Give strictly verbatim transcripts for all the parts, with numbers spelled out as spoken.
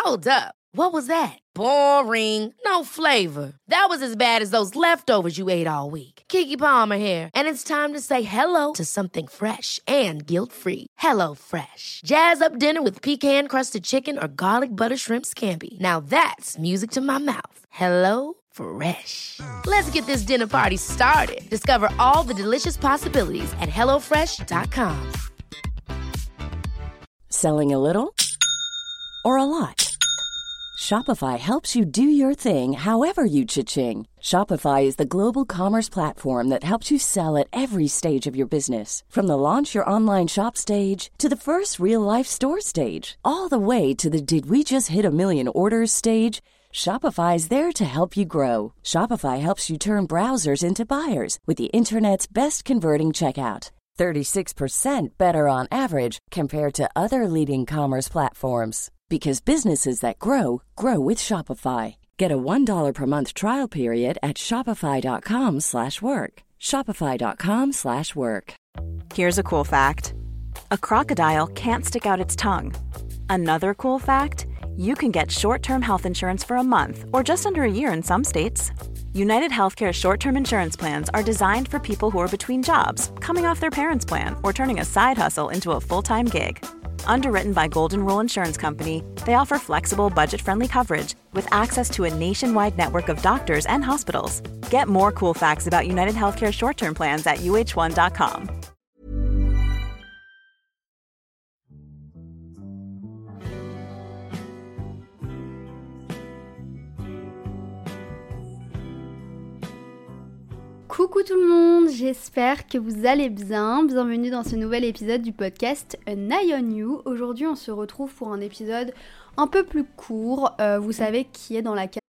Hold up. What was that? Boring. No flavor. That was as bad as those leftovers you ate all week. Keke Palmer here, and it's time to say hello to something fresh and guilt-free. Hello Fresh. Jazz up dinner with pecan-crusted chicken or garlic butter shrimp scampi. Now that's music to my mouth. Hello Fresh. Let's get this dinner party started. Discover all the delicious possibilities at hello fresh dot com. Selling a little or a lot? Shopify helps you do your thing however you cha-ching. Shopify is the global commerce platform that helps you sell at every stage of your business. From the launch your online shop stage to the first real-life store stage, all the way to the did we just hit a million orders stage. Shopify is there to help you grow. Shopify helps you turn browsers into buyers with the internet's best converting checkout. thirty-six percent better on average compared to other leading commerce platforms. Because businesses that grow, grow with Shopify. Get a one dollar per month trial period at shopify.com slash work. Shopify.com slash work. Here's a cool fact. A crocodile can't stick out its tongue. Another cool fact, you can get short-term health insurance for a month or just under a year in some states. United Healthcare short-term insurance plans are designed for people who are between jobs, coming off their parents' plan, or turning a side hustle into a full-time gig. Underwritten by Golden Rule Insurance Company, they offer flexible, budget-friendly coverage with access to a nationwide network of doctors and hospitals. Get more cool facts about United Healthcare short-term plans at U H one dot com. Coucou tout le monde, j'espère que vous allez bien. Bienvenue dans ce nouvel épisode du podcast An Eye on You. Aujourd'hui, on se retrouve pour un épisode un peu plus court. Euh, vous savez qui est dans la case.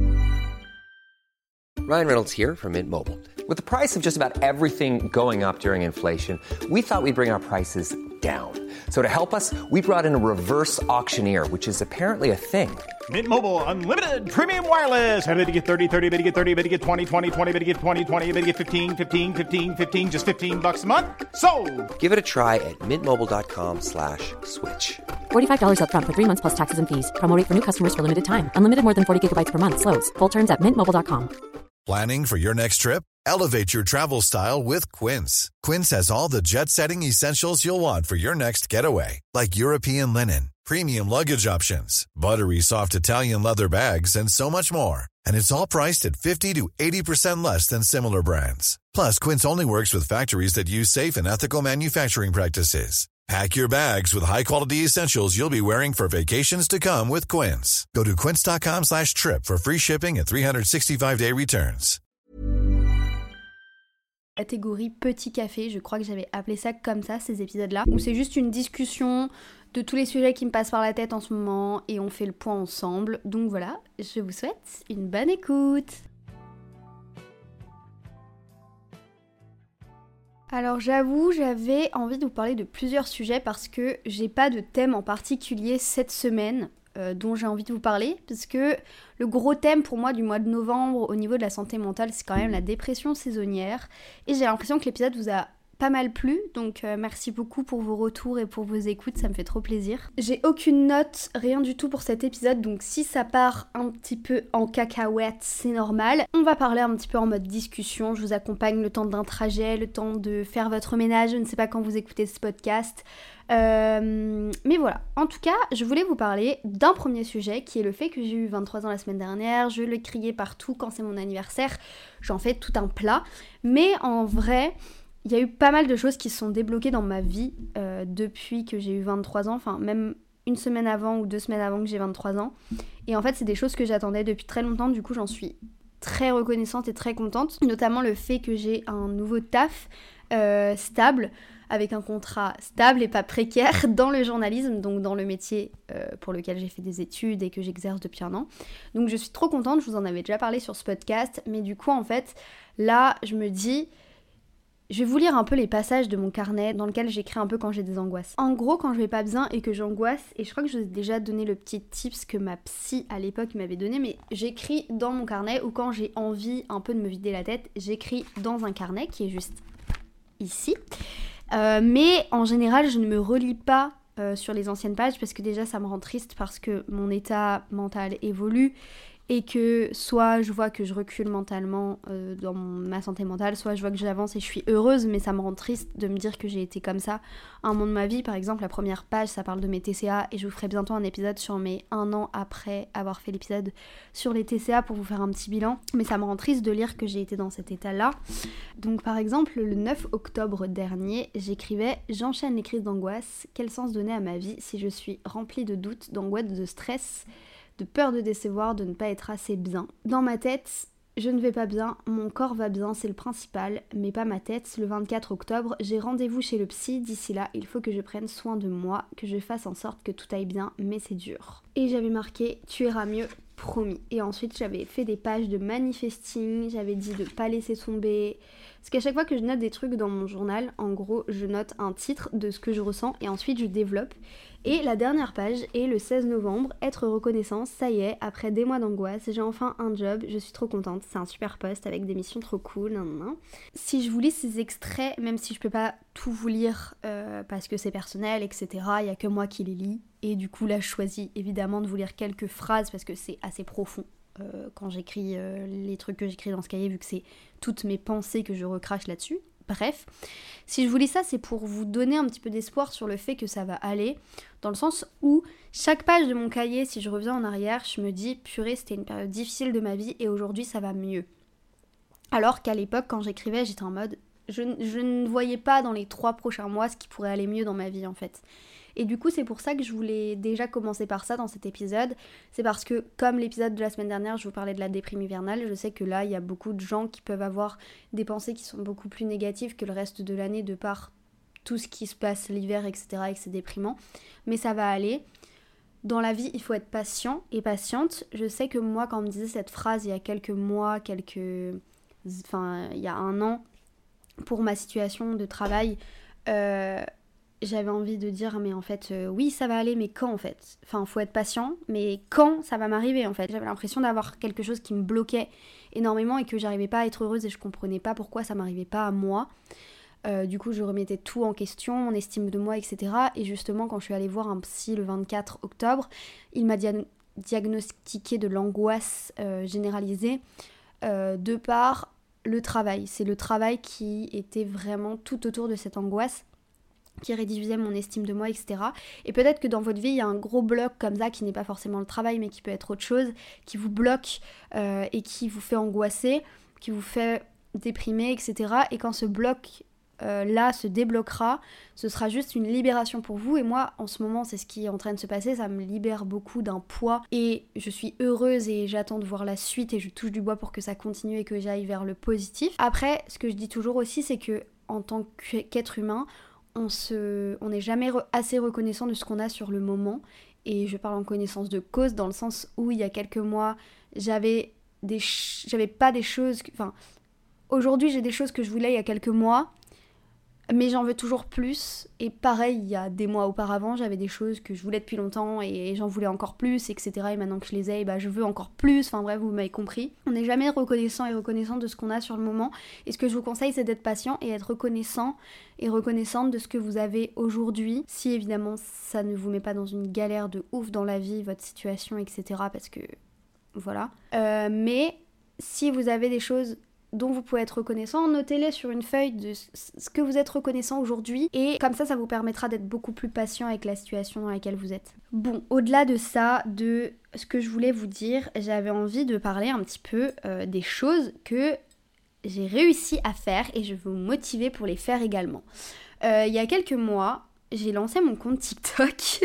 Ryan Reynolds here from Mint Mobile. With the price of just about everything going up during inflation, we thought we'd bring our prices down. So to help us, we brought in a reverse auctioneer, which is apparently a thing. Mint Mobile Unlimited Premium Wireless. How to get thirty, thirty, how to get thirty, how to get twenty, twenty, twenty, how to get twenty, twenty, how to get fifteen, fifteen, fifteen, fifteen, just fifteen bucks a month? Sold! Give it a try at mintmobile.com slash switch. forty-five dollars up front for three months plus taxes and fees. Promo rate for new customers for limited time. Unlimited more than forty gigabytes per month. Slows full terms at mint mobile dot com. Planning for your next trip? Elevate your travel style with Quince. Quince has all the jet-setting essentials you'll want for your next getaway, like European linen, premium luggage options, buttery soft Italian leather bags, and so much more. And it's all priced at fifty to eighty percent less than similar brands. Plus, Quince only works with factories that use safe and ethical manufacturing practices. Pack your bags with high-quality essentials you'll be wearing for vacations to come with Quince. Go to quince.com slash trip for free shipping and three sixty-five day returns. Catégorie petit café, je crois que j'avais appelé ça comme ça, ces épisodes-là, où c'est juste une discussion de tous les sujets qui me passent par la tête en ce moment et on fait le point ensemble. Donc voilà, je vous souhaite une bonne écoute. Alors j'avoue, j'avais envie de vous parler de plusieurs sujets parce que j'ai pas de thème en particulier cette semaine euh, dont j'ai envie de vous parler, parce que le gros thème pour moi du mois de novembre au niveau de la santé mentale, c'est quand même la dépression saisonnière, et j'ai l'impression que l'épisode vous a pas mal plu, donc euh, merci beaucoup pour vos retours et pour vos écoutes, ça me fait trop plaisir. J'ai aucune note, rien du tout pour cet épisode, donc si ça part un petit peu en cacahuète, c'est normal. On va parler un petit peu en mode discussion, je vous accompagne le temps d'un trajet, le temps de faire votre ménage, je ne sais pas quand vous écoutez ce podcast. Euh, mais voilà, en tout cas, je voulais vous parler d'un premier sujet qui est le fait que j'ai eu vingt-trois ans la semaine dernière, je le criais partout quand c'est mon anniversaire, j'en fais tout un plat, mais en vrai... il y a eu pas mal de choses qui se sont débloquées dans ma vie euh, depuis que j'ai eu vingt-trois ans, enfin même une semaine avant ou deux semaines avant que j'ai vingt-trois ans. Et en fait, c'est des choses que j'attendais depuis très longtemps, du coup j'en suis très reconnaissante et très contente. Notamment le fait que j'ai un nouveau taf euh, stable, avec un contrat stable et pas précaire dans le journalisme, donc dans le métier euh, pour lequel j'ai fait des études et que j'exerce depuis un an. Donc je suis trop contente, je vous en avais déjà parlé sur ce podcast, mais du coup en fait, là je me dis... je vais vous lire un peu les passages de mon carnet dans lequel j'écris un peu quand j'ai des angoisses. En gros, quand je vais pas bien et que j'angoisse, et je crois que je vous ai déjà donné le petit tips que ma psy à l'époque m'avait donné, mais j'écris dans mon carnet, ou quand j'ai envie un peu de me vider la tête, j'écris dans un carnet qui est juste ici. Euh, mais en général, je ne me relis pas euh, sur les anciennes pages parce que déjà ça me rend triste parce que mon état mental évolue et que soit je vois que je recule mentalement euh, dans mon, ma santé mentale, soit je vois que j'avance et je suis heureuse, mais ça me rend triste de me dire que j'ai été comme ça à un moment de ma vie. Par exemple, la première page, ça parle de mes T C A et je vous ferai bientôt un épisode sur mes un an après avoir fait l'épisode sur les T C A pour vous faire un petit bilan, mais ça me rend triste de lire que j'ai été dans cet état-là. Donc par exemple, le neuf octobre dernier, j'écrivais « J'enchaîne les crises d'angoisse, quel sens donner à ma vie si je suis remplie de doutes, d'angoisse, de stress ?» de peur de décevoir, de ne pas être assez bien. Dans ma tête, je ne vais pas bien, mon corps va bien, c'est le principal, mais pas ma tête. Le vingt-quatre octobre, j'ai rendez-vous chez le psy, d'ici là, il faut que je prenne soin de moi, que je fasse en sorte que tout aille bien, mais c'est dur. Et j'avais marqué « Tu iras mieux, promis ». Et ensuite, j'avais fait des pages de manifesting, j'avais dit de pas laisser tomber. Parce qu'à chaque fois que je note des trucs dans mon journal, en gros, je note un titre de ce que je ressens et ensuite je développe. Et la dernière page est le seize novembre, être reconnaissant, ça y est, après des mois d'angoisse, j'ai enfin un job, je suis trop contente, c'est un super post avec des missions trop cool, nan, nan, nan. Si je vous lis ces extraits, même si je peux pas tout vous lire euh, parce que c'est personnel, et cetera, il y a que moi qui les lis, et du coup là je choisis évidemment de vous lire quelques phrases parce que c'est assez profond. Euh, quand j'écris euh, les trucs que j'écris dans ce cahier, vu que c'est toutes mes pensées que je recrache là-dessus. Bref, si je vous lis ça, c'est pour vous donner un petit peu d'espoir sur le fait que ça va aller, dans le sens où chaque page de mon cahier, si je reviens en arrière, je me dis, purée, c'était une période difficile de ma vie et aujourd'hui ça va mieux. Alors qu'à l'époque, quand j'écrivais, j'étais en mode, je, je ne voyais pas dans les trois prochains mois ce qui pourrait aller mieux dans ma vie en fait. Et du coup, c'est pour ça que je voulais déjà commencer par ça dans cet épisode. C'est parce que, comme l'épisode de la semaine dernière, je vous parlais de la déprime hivernale, je sais que là, il y a beaucoup de gens qui peuvent avoir des pensées qui sont beaucoup plus négatives que le reste de l'année de par tout ce qui se passe l'hiver, et cetera, et que c'est déprimant. Mais ça va aller. Dans la vie, il faut être patient et patiente. Je sais que moi, quand on me disait cette phrase il y a quelques mois, quelques... Enfin, il y a un an, pour ma situation de travail... Euh... J'avais envie de dire, mais en fait, euh, oui, ça va aller, mais quand en fait ? Enfin, faut être patient, mais quand ça va m'arriver en fait ? J'avais l'impression d'avoir quelque chose qui me bloquait énormément et que j'arrivais pas à être heureuse et je comprenais pas pourquoi ça m'arrivait pas à moi. Euh, du coup, je remettais tout en question, mon estime de moi, et cetera. Et justement, quand je suis allée voir un psy le vingt-quatre octobre, il m'a dia- diagnostiqué de l'angoisse euh, généralisée euh, de par le travail. C'est le travail qui était vraiment tout autour de cette angoisse, qui réduisait mon estime de moi, et cetera. Et peut-être que dans votre vie, il y a un gros bloc comme ça, qui n'est pas forcément le travail, mais qui peut être autre chose, qui vous bloque euh, et qui vous fait angoisser, qui vous fait déprimer, et cetera. Et quand ce bloc euh, là se débloquera, ce sera juste une libération pour vous. Et moi, en ce moment, c'est ce qui est en train de se passer, ça me libère beaucoup d'un poids. Et je suis heureuse et j'attends de voir la suite et je touche du bois pour que ça continue et que j'aille vers le positif. Après, ce que je dis toujours aussi, c'est que en tant qu'être humain, on se, on n'est jamais re- assez reconnaissant de ce qu'on a sur le moment. Et je parle en connaissance de cause, dans le sens où il y a quelques mois, j'avais des, ch- j'avais pas des choses, que, enfin, aujourd'hui j'ai des choses que je voulais il y a quelques mois, mais j'en veux toujours plus. Et pareil, il y a des mois auparavant, j'avais des choses que je voulais depuis longtemps et j'en voulais encore plus, et cetera. Et maintenant que je les ai, bah, je veux encore plus. Enfin bref, vous m'avez compris. On n'est jamais reconnaissant et reconnaissant de ce qu'on a sur le moment. Et ce que je vous conseille, c'est d'être patient et être reconnaissant et reconnaissante de ce que vous avez aujourd'hui. Si évidemment, ça ne vous met pas dans une galère de ouf dans la vie, votre situation, et cetera. Parce que, voilà. Euh, mais si vous avez des choses dont vous pouvez être reconnaissant, notez-les sur une feuille de ce que vous êtes reconnaissant aujourd'hui et comme ça, ça vous permettra d'être beaucoup plus patient avec la situation dans laquelle vous êtes. Bon, au-delà de ça, de ce que je voulais vous dire, j'avais envie de parler un petit peu euh, des choses que j'ai réussi à faire et je vais vous motiver pour les faire également. Euh, il y a quelques mois, j'ai lancé mon compte TikTok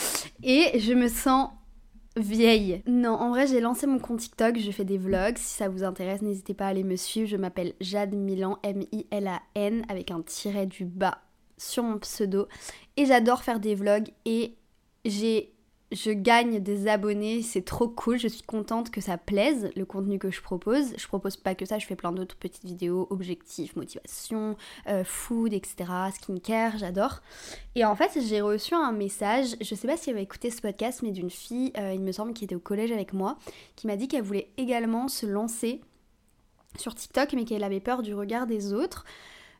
et je me sens vieille. Non, en vrai, j'ai lancé mon compte TikTok, je fais des vlogs. Si ça vous intéresse, n'hésitez pas à aller me suivre. Je m'appelle Jade Milan, M I L A N, avec un tiret du bas sur mon pseudo. Et j'adore faire des vlogs et j'ai... je gagne des abonnés, c'est trop cool. Je suis contente que ça plaise, le contenu que je propose. Je propose pas que ça, je fais plein d'autres petites vidéos, objectifs, motivation, euh, food, et cetera, skincare, j'adore. Et en fait, j'ai reçu un message, je sais pas si elle va écouter ce podcast, mais d'une fille, euh, il me semble, qui était au collège avec moi, qui m'a dit qu'elle voulait également se lancer sur TikTok, mais qu'elle avait peur du regard des autres.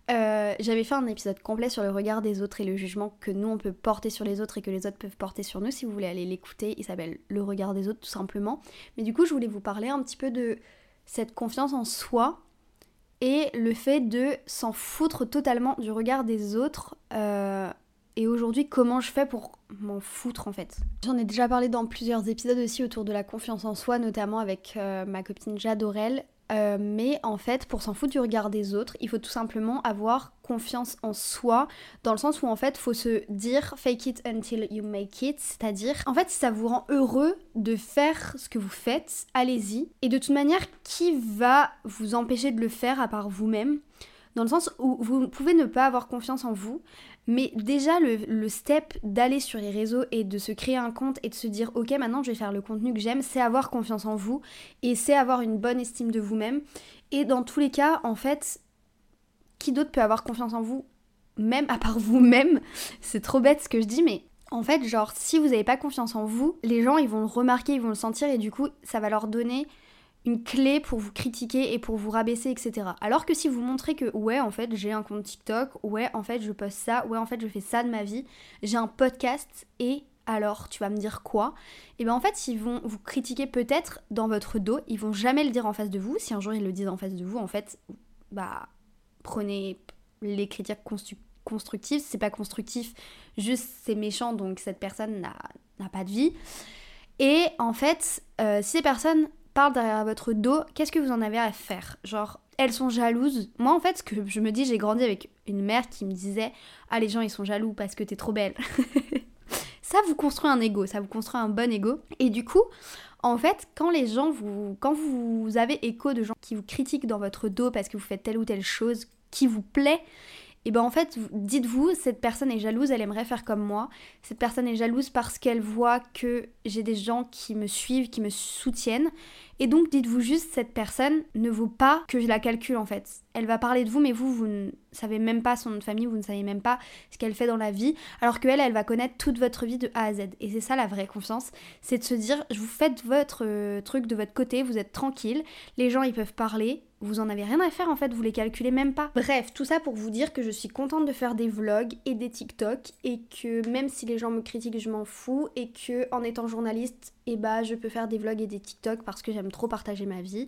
Euh, j'avais fait un épisode complet sur le regard des autres et le jugement que nous on peut porter sur les autres et que les autres peuvent porter sur nous. Si vous voulez aller l'écouter, il s'appelle Le regard des autres tout simplement. Mais du coup je voulais vous parler un petit peu de cette confiance en soi et le fait de s'en foutre totalement du regard des autres. Euh, et aujourd'hui comment je fais pour m'en foutre en fait. J'en ai déjà parlé dans plusieurs épisodes aussi autour de la confiance en soi, notamment avec euh, ma copine Jade Aurel. Euh, mais en fait, pour s'en foutre du regard des autres, il faut tout simplement avoir confiance en soi, dans le sens où en fait, faut se dire fake it until you make it, c'est-à-dire, en fait, si ça vous rend heureux de faire ce que vous faites, allez-y. Et de toute manière, qui va vous empêcher de le faire à part vous-même ? Dans le sens où vous pouvez ne pas avoir confiance en vous, mais déjà le, le step d'aller sur les réseaux et de se créer un compte et de se dire ok maintenant je vais faire le contenu que j'aime, c'est avoir confiance en vous et c'est avoir une bonne estime de vous-même. Et dans tous les cas en fait, qui d'autre peut avoir confiance en vous même à part vous-même? C'est trop bête ce que je dis, mais en fait genre si vous n'avez pas confiance en vous, les gens ils vont le remarquer, ils vont le sentir et du coup ça va leur donner une clé pour vous critiquer et pour vous rabaisser, et cetera. Alors que si vous montrez que ouais en fait j'ai un compte TikTok, ouais en fait je poste ça, ouais en fait je fais ça de ma vie, j'ai un podcast et alors tu vas me dire quoi? Et bien en fait ils vont vous critiquer peut-être dans votre dos, ils vont jamais le dire en face de vous. Si un jour ils le disent en face de vous, en fait bah prenez les critiques constru- constructives, c'est pas constructif, juste c'est méchant donc cette personne n'a, n'a pas de vie. Et en fait euh, si ces personnes parle derrière votre dos, qu'est-ce que vous en avez à faire? Genre, elles sont jalouses. Moi, en fait, ce que je me dis, j'ai grandi avec une mère qui me disait « Ah, les gens, ils sont jaloux parce que t'es trop belle. » Ça vous construit un ego, ça vous construit un bon ego. Et du coup, en fait, quand les gens vous... Quand vous avez écho de gens qui vous critiquent dans votre dos parce que vous faites telle ou telle chose qui vous plaît, et ben en fait, dites-vous, cette personne est jalouse, elle aimerait faire comme moi. Cette personne est jalouse parce qu'elle voit que j'ai des gens qui me suivent, qui me soutiennent. Et donc, dites-vous juste, cette personne ne vaut pas que je la calcule en fait. Elle va parler de vous, mais vous, vous ne savez même pas son nom de famille, vous ne savez même pas ce qu'elle fait dans la vie. Alors qu'elle, elle va connaître toute votre vie de A à Z. Et c'est ça la vraie confiance, c'est de se dire, vous faites votre euh, truc de votre côté, vous êtes tranquille, les gens ils peuvent parler, vous en avez rien à faire en fait, vous les calculez même pas. Bref, tout ça pour vous dire que je suis contente de faire des vlogs et des TikTok et que même si les gens me critiquent, je m'en fous et que en étant journaliste, eh bah je peux faire des vlogs et des TikTok parce que j'aime trop partager ma vie.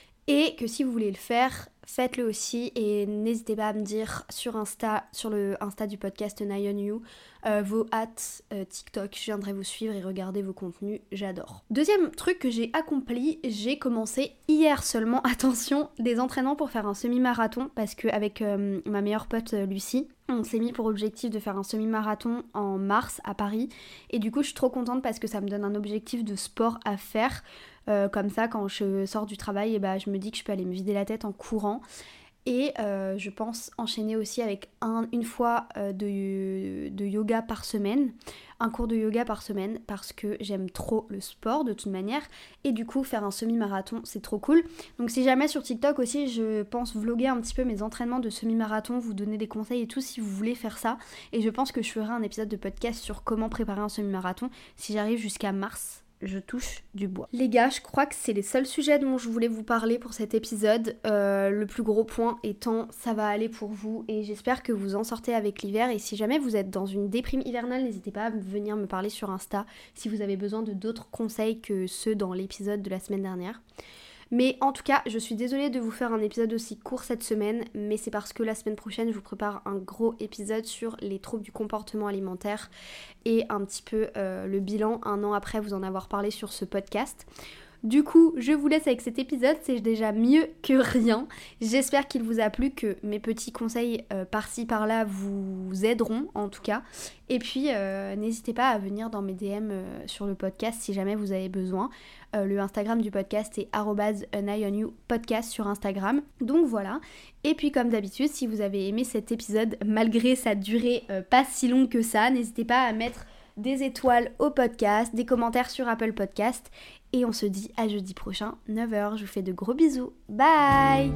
Et que si vous voulez le faire, faites-le aussi et n'hésitez pas à me dire sur Insta, sur le Insta du podcast Nai on You, euh, vos hâtes euh, TikTok, je viendrai vous suivre et regarder vos contenus, j'adore. Deuxième truc que j'ai accompli, j'ai commencé hier seulement, attention, des entraînements pour faire un semi-marathon parce qu'avec euh, ma meilleure pote euh, Lucie, on s'est mis pour objectif de faire un semi-marathon en mars à Paris et du coup je suis trop contente parce que ça me donne un objectif de sport à faire. Euh, comme ça, quand je sors du travail, et bah, je me dis que je peux aller me vider la tête en courant. Et euh, je pense enchaîner aussi avec un, une fois euh, de, de yoga par semaine, un cours de yoga par semaine, parce que j'aime trop le sport de toute manière. Et du coup, faire un semi-marathon, c'est trop cool. Donc si jamais sur TikTok aussi, je pense vlogger un petit peu mes entraînements de semi-marathon, vous donner des conseils et tout si vous voulez faire ça. Et je pense que je ferai un épisode de podcast sur comment préparer un semi-marathon si j'arrive jusqu'à mars. Je touche du bois. Les gars, je crois que c'est les seuls sujets dont je voulais vous parler pour cet épisode. Euh, le plus gros point étant, ça va aller pour vous et j'espère que vous en sortez avec l'hiver. Et si jamais vous êtes dans une déprime hivernale, n'hésitez pas à venir me parler sur Insta si vous avez besoin de d'autres conseils que ceux dans l'épisode de la semaine dernière. Mais en tout cas, je suis désolée de vous faire un épisode aussi court cette semaine, mais c'est parce que la semaine prochaine, je vous prépare un gros épisode sur les troubles du comportement alimentaire et un petit peu euh, le bilan un an après vous en avoir parlé sur ce podcast. Du coup, je vous laisse avec cet épisode, c'est déjà mieux que rien. J'espère qu'il vous a plu, que mes petits conseils euh, par-ci par-là vous aideront en tout cas. Et puis, euh, n'hésitez pas à venir dans mes D M euh, sur le podcast si jamais vous avez besoin. Euh, le Instagram du podcast est arobase nai on you podcast sur Instagram. Donc voilà. Et puis comme d'habitude, si vous avez aimé cet épisode, malgré sa durée euh, pas si longue que ça, n'hésitez pas à mettre des étoiles au podcast, des commentaires sur Apple Podcast. Et on se dit à jeudi prochain, neuf heures. Je vous fais de gros bisous. Bye!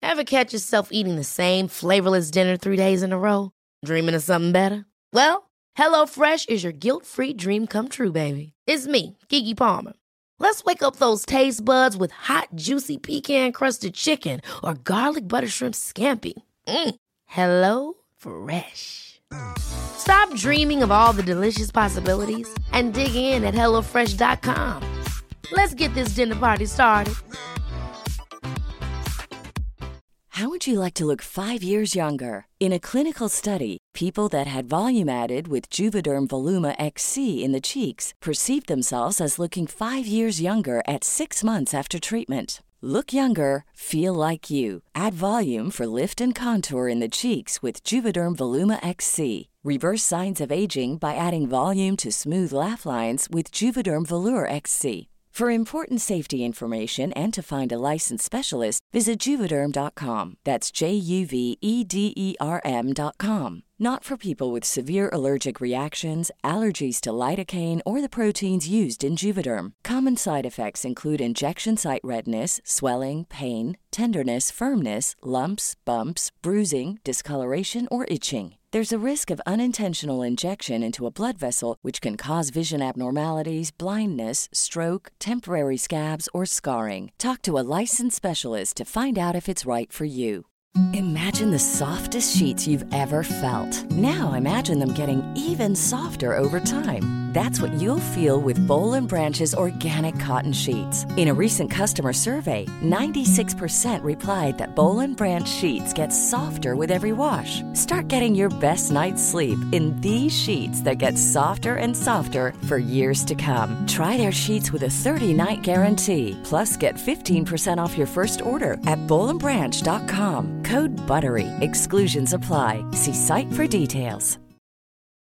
Ever catch yourself eating the same flavorless dinner three days in a row? Dreaming of something better? Well, HelloFresh is your guilt-free dream come true, baby. It's me, Keke Palmer. Let's wake up those taste buds with hot, juicy pecan-crusted chicken or garlic butter shrimp scampi. Mm. Hello Fresh. Stop dreaming of all the delicious possibilities and dig in at hello fresh dot com. Let's get this dinner party started. How would you like to look five years younger? In a clinical study, people that had volume added with Juvederm Voluma X C in the cheeks perceived themselves as looking five years younger at six months after treatment. Look younger, feel like you. Add volume for lift and contour in the cheeks with Juvederm Voluma X C. Reverse signs of aging by adding volume to smooth laugh lines with Juvederm Volure X C. For important safety information and to find a licensed specialist, visit Juvederm dot com. That's J U V E D E R M dot com. Not for people with severe allergic reactions, allergies to lidocaine, or the proteins used in Juvederm. Common side effects include injection site redness, swelling, pain, tenderness, firmness, lumps, bumps, bruising, discoloration, or itching. There's a risk of unintentional injection into a blood vessel, which can cause vision abnormalities, blindness, stroke, temporary scabs, or scarring. Talk to a licensed specialist to find out if it's right for you. Imagine the softest sheets you've ever felt. Now imagine them getting even softer over time. That's what you'll feel with Boll and Branch's organic cotton sheets. In a recent customer survey, ninety-six percent replied that Boll and Branch sheets get softer with every wash. Start getting your best night's sleep in these sheets that get softer and softer for years to come. Try their sheets with a thirty-night guarantee. Plus, get fifteen percent off your first order at boll and branch dot com. Code BUTTERY. Exclusions apply. See site for details.